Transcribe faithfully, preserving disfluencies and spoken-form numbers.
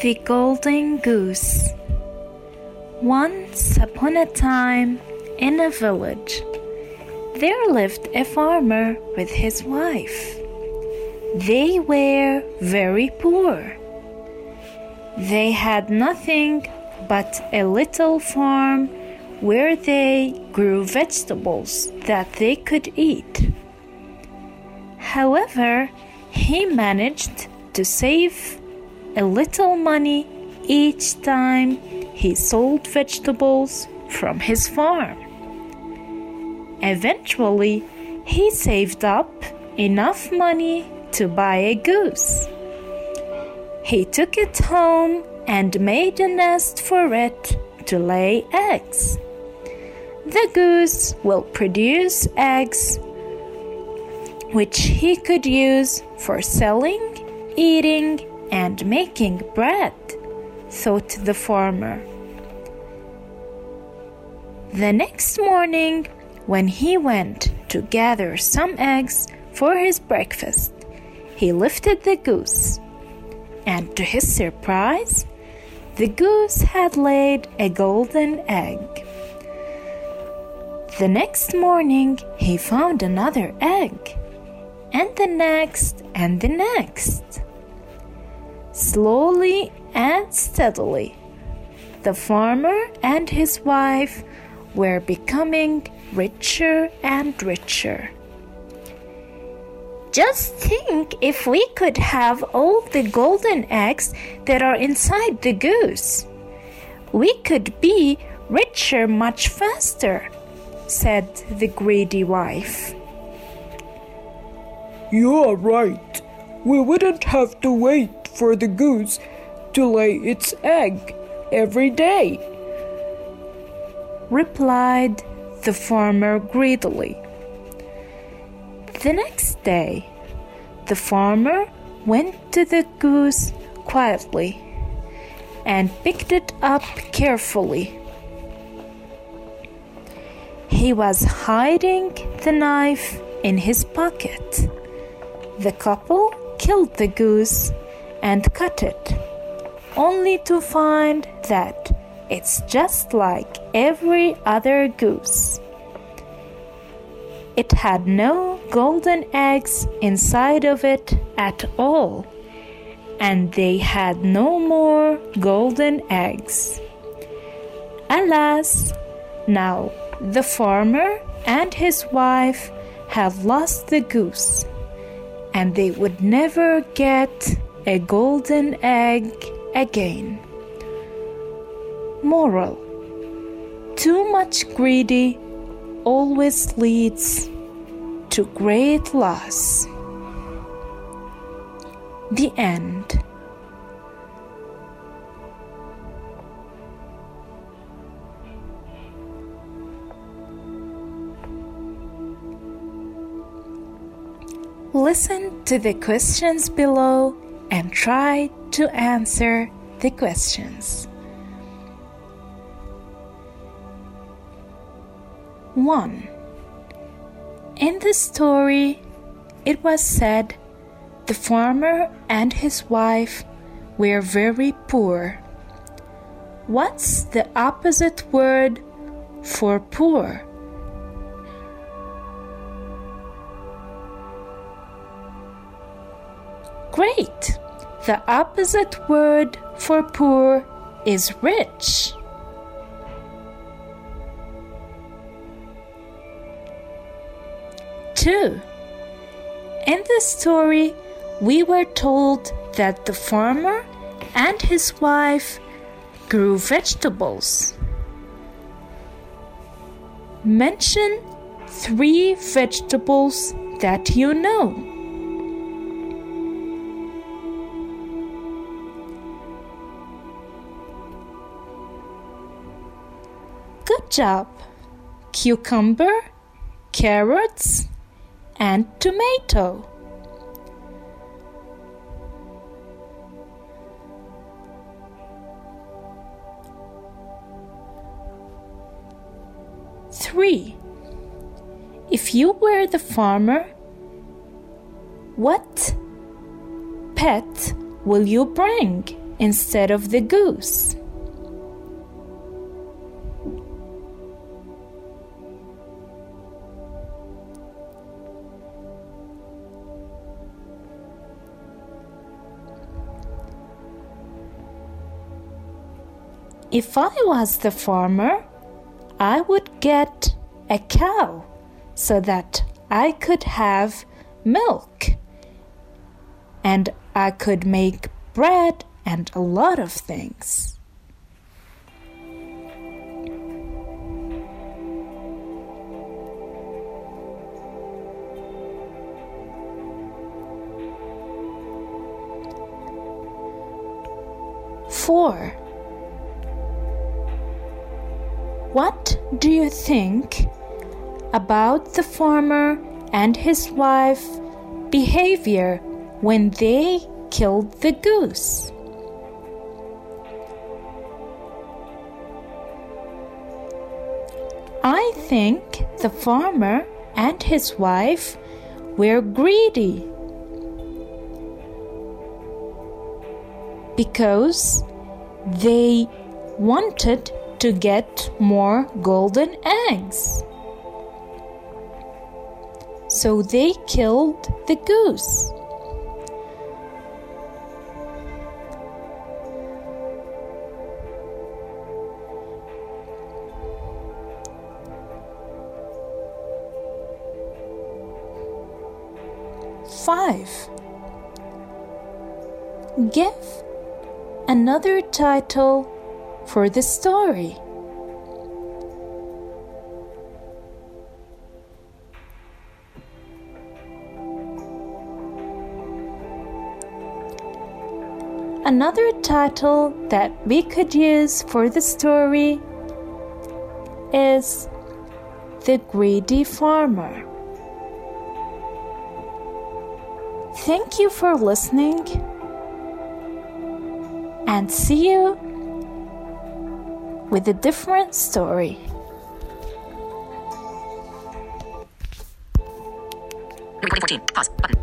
The Golden Goose. Once upon a time, in a village, there lived a farmer with his wife. They were very poor. They had nothing but a little farm where they grew vegetables that they could eat. However, he managed to save a little money each time he sold vegetables from his farm. Eventually, he saved up enough money to buy a goose. He took it home and made a nest for it to lay eggs. The goose will produce eggs which he could use for selling, eating, and making bread, thought the farmer. The next morning, when he went to gather some eggs for his breakfast, he lifted the goose, and to his surprise, the goose had laid a golden egg. The next morning, he found another egg, and the next and the next. Slowly and steadily, the farmer and his wife were becoming richer and richer. Just think if we could have all the golden eggs that are inside the goose. We could be richer much faster, said the greedy wife. You're right. We wouldn't have to wait for the goose to lay its egg every day, replied the farmer greedily. The next day, the farmer went to the goose quietly and picked it up carefully. He was hiding the knife in his pocket. The couple killed the goose and cut it, only to find that it's just like every other goose. It had no golden eggs inside of it at all, and they had no more golden eggs. Alas, now the farmer and his wife had lost the goose, and they would never get a golden egg again. Moral: too much greedy always leads to great loss. The end. Listen to the questions below and try to answer the questions. one. In the story, it was said the farmer and his wife were very poor. What's the opposite word for poor? Great! The opposite word for poor is rich. Two. In the story, we were told that the farmer and his wife grew vegetables. Mention three vegetables that you know. Good job! Cucumber, carrots, and tomato. Three. If you were the farmer, what pet will you bring instead of the goose? If I was the farmer, I would get a cow so that I could have milk and I could make bread and a lot of things. Four. What do you think about the farmer and his wife behavior when they killed the goose? I think the farmer and his wife were greedy because they wanted to get more golden eggs. So they killed the goose. Five. Give another title for the story. Another title that we could use for the story is The Greedy Farmer. Thank you for listening, and see you with a different story. Recording fourteen. Pause. Button.